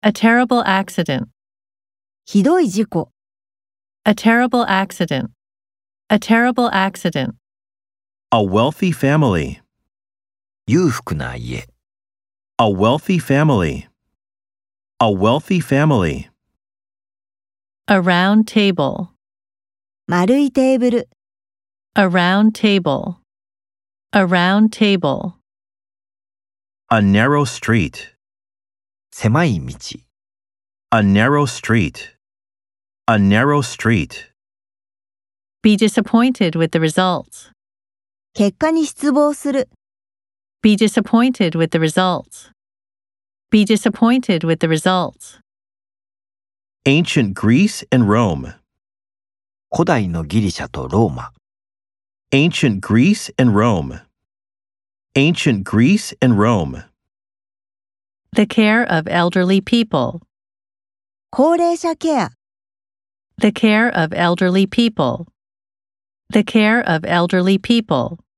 A terrible accident. ひどい事故、 A terrible accident. A terrible accident. A wealthy family. 裕福な家。 A wealthy family. A wealthy family. A round table. 丸いテーブル、 A round table. A round table. A narrow street. 狭い道。 A narrow street. A narrow street. Be disappointed with the results. 結果に失望する、 Be disappointed with the results. Be disappointed with the results. Ancient Greece and Rome. 古代のギリシャとローマ。 Ancient Greece and Rome. Ancient Greece and Rome. The care of elderly people. 高齢者ケア、 The care of elderly people. The care of elderly people.